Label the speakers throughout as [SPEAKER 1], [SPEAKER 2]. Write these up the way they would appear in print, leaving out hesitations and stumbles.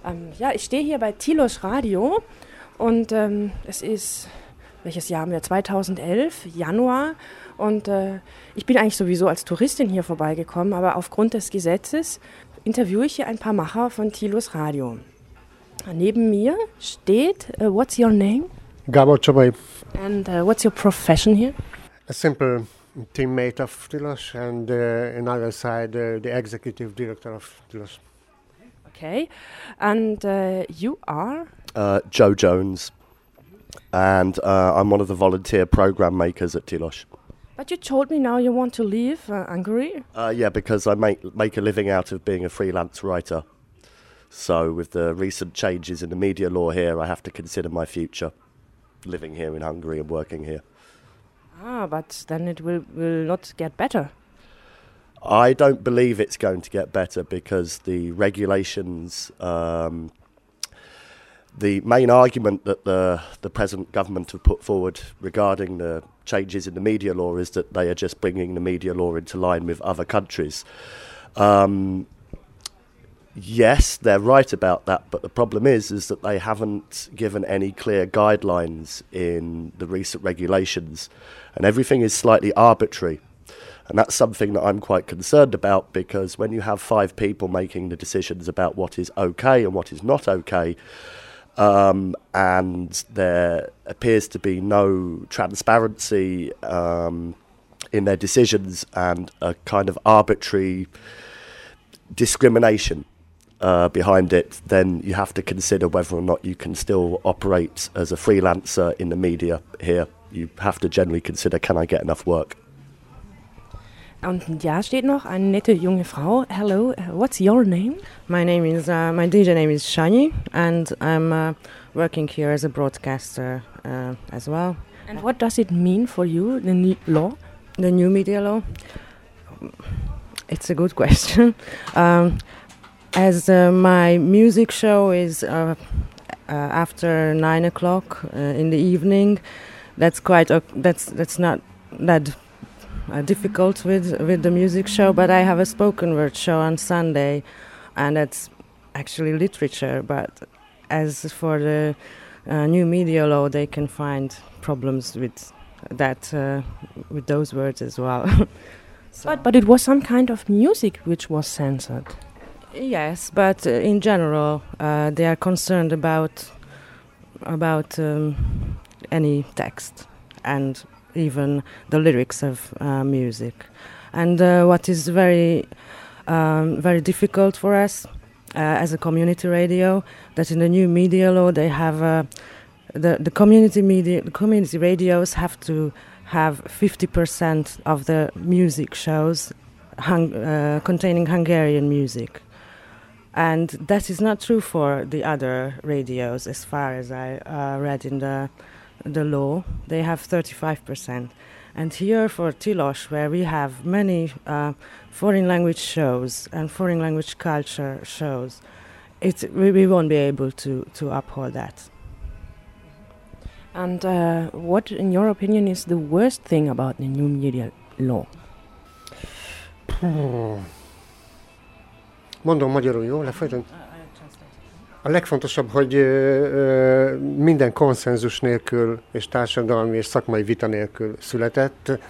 [SPEAKER 1] Ja, ich stehe hier bei Tilos Radio und es ist, welches Jahr haben wir? 2011, Januar. Und ich bin eigentlich sowieso als Touristin hier vorbeigekommen, aber aufgrund des Gesetzes interviewe ich hier ein paar Macher von Tilos Radio. Neben mir steht, what's your name?
[SPEAKER 2] Gábor Csabai.
[SPEAKER 1] And what's your profession here?
[SPEAKER 2] A simple teammate of Tilos and on other side the executive director of Tilos.
[SPEAKER 1] Okay, and you are?
[SPEAKER 3] Joe Jones, and I'm one of the volunteer program makers at Tilos.
[SPEAKER 1] But you told me now you want to leave Hungary?
[SPEAKER 3] Yeah, because I make a living out of being a freelance writer. So with the recent changes in the media law here, I have to consider my future living here in Hungary and working here.
[SPEAKER 1] But then it will not get better.
[SPEAKER 3] I don't believe it's going to get better because the regulations, the main argument that the present government have put forward regarding the changes in the media law is that they are just bringing the media law into line with other countries. Yes, they're right about that, but the problem is that they haven't given any clear guidelines in the recent regulations, and everything is slightly arbitrary. And that's something that I'm quite concerned about, because when you have 5 people making the decisions about what is okay and what is not okay, and there appears to be no transparency in their decisions and a kind of arbitrary discrimination behind it, then you have to consider whether or not you can still operate as a freelancer in the media here. You have to generally consider, can I get enough work?
[SPEAKER 1] Und ja, steht noch eine nette junge Frau. Hello, what's your name?
[SPEAKER 4] My DJ name is Shani, and I'm working here as a broadcaster as well.
[SPEAKER 1] And what does it mean for you, the new law?
[SPEAKER 4] The new media law? It's a good question. As my music show is after 9 o'clock in the evening, that's not that difficult with the music show, but I have a spoken word show on Sunday, and that's actually literature. But as for the new media law, they can find problems with that, with those words as well.
[SPEAKER 1] But it was some kind of music which was censored.
[SPEAKER 4] Yes, but in general, they are concerned about any text and even the lyrics of music. And what is very difficult for us as a community radio, that in the new media law they have the community radios have to have 50% of the music shows containing Hungarian music. And that is not true for the other radios, as far as I read in the law. They have 35%. And here for Tilos, where we have many foreign language shows and foreign language culture shows, we won't be able to uphold that.
[SPEAKER 1] And what, in your opinion, is the worst thing about the new media law?
[SPEAKER 2] Mondom magyarul, jó? Lefolyton? A legfontosabb, hogy minden konszenzus nélkül és társadalmi és szakmai vita nélkül született.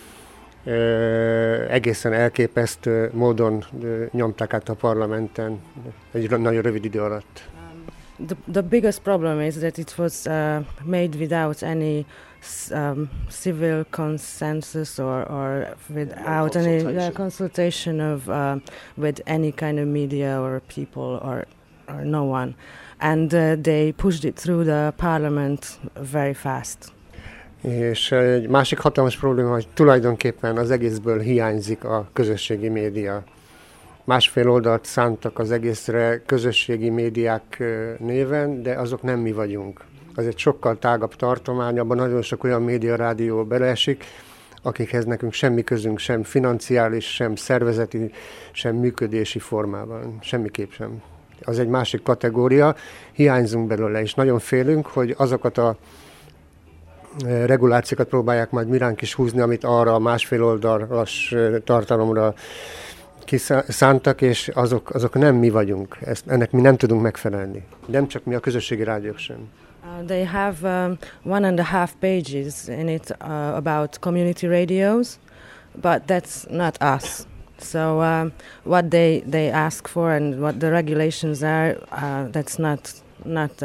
[SPEAKER 2] Egészen elképesztő módon nyomták át a parlamenten egy nagyon rövid idő alatt.
[SPEAKER 4] The biggest problem is that it was made without any civil consensus or without any consultation of with any kind of media or people or no one, and they pushed it through the parliament very fast.
[SPEAKER 2] És egy másik hatalmas probléma, hogy tulajdonképpen az egészből hiányzik a közösségi média. Másfél oldalt szántak az egészre közösségi médiák néven, de azok nem mi vagyunk. Az egy sokkal tágabb tartomány, abban nagyon sok olyan média rádió beleesik, akikhez nekünk semmi közünk, sem financiális, sem szervezeti, sem működési formában, semmiképp sem. Az egy másik kategória, hiányzunk belőle, és nagyon félünk, hogy azokat a regulációkat próbálják majd miránk is húzni, amit arra a másfél oldalas tartalomra kiszántak, és azok nem mi vagyunk. Ennek mi nem tudunk megfelelni. Nem csak mi, a közösségi rádiók sem.
[SPEAKER 4] They have 1.5 pages in it about community radios, but that's not us. So what they ask for and what the regulations are, that's not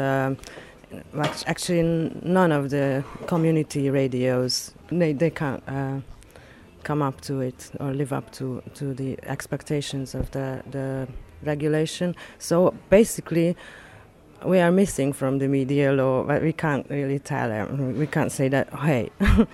[SPEAKER 4] actually none of the community radios. They can't come up to it or live up to the expectations of the regulation. So basically, we are missing from the media law, but we can't really tell them. We can't say that, hey,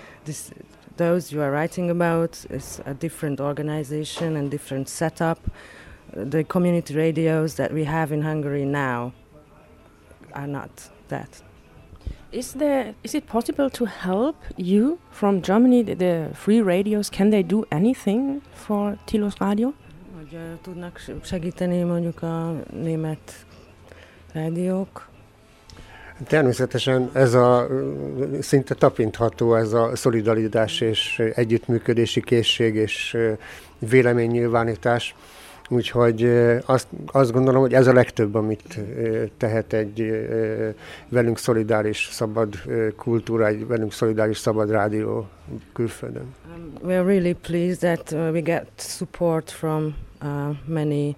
[SPEAKER 4] those you are writing about is a different organization and different setup. The community radios that we have in Hungary now are not that.
[SPEAKER 1] Is it possible to help you from Germany, the free radios? Can they do anything for Tilos Radio?
[SPEAKER 4] Hogy tudnak segíteni mondjuk a német rádiók?
[SPEAKER 2] Természetesen ez a szinte tapintható, ez a szolidaritás és együttműködési készség és véleménynyilvánítás. Úgyhogy azt gondolom, hogy ez a legtöbb, amit tehet egy velünk szolidáris szabad kultúra, egy velünk szolidáris szabad rádió külföldön.
[SPEAKER 4] We are really pleased that we get support from many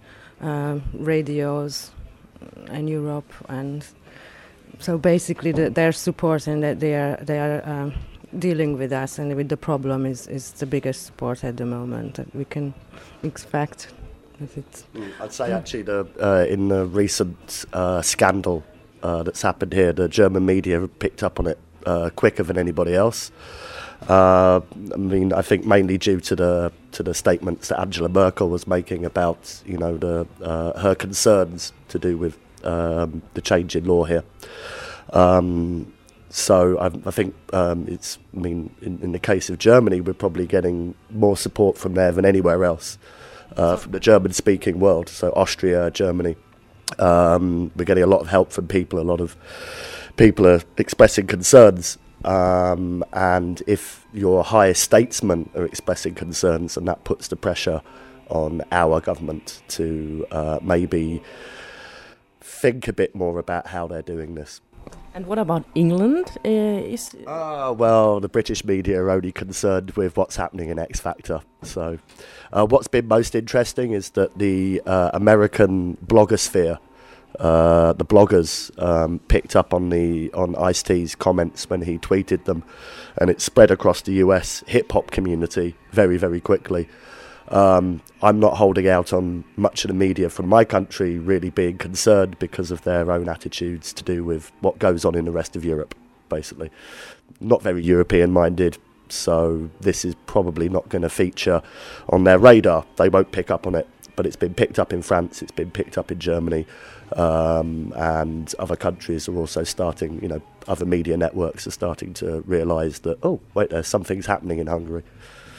[SPEAKER 4] radios in Europe, and so basically their support and that they are dealing with us and with the problem is the biggest support at the moment that we can expect.
[SPEAKER 3] I'd say actually in the recent scandal that's happened here, the German media have picked up on it quicker than anybody else. I mean, I think mainly due to the statements that Angela Merkel was making about, you know, her concerns to do with the change in law here. So I think it's. I mean, in the case of Germany, we're probably getting more support from there than anywhere else. From the German-speaking world, so Austria, Germany. We're getting a lot of help from people. A lot of people are expressing concerns, and if your highest statesmen are expressing concerns, and that puts the pressure on our government to maybe think a bit more about how they're doing this.
[SPEAKER 1] And what about England?
[SPEAKER 3] Well, the British media are only concerned with what's happening in X Factor. So what's been most interesting is that the American blogosphere, the bloggers picked up on Ice-T's comments when he tweeted them, and it spread across the US hip-hop community very, very quickly. I'm not holding out on much of the media from my country really being concerned because of their own attitudes to do with what goes on in the rest of Europe, basically. Not very European-minded, so this is probably not going to feature on their radar. They won't pick up on it, but it's been picked up in France, it's been picked up in Germany, and other countries are also starting, other media networks are starting to realise that, oh, wait, there's some things happening in Hungary.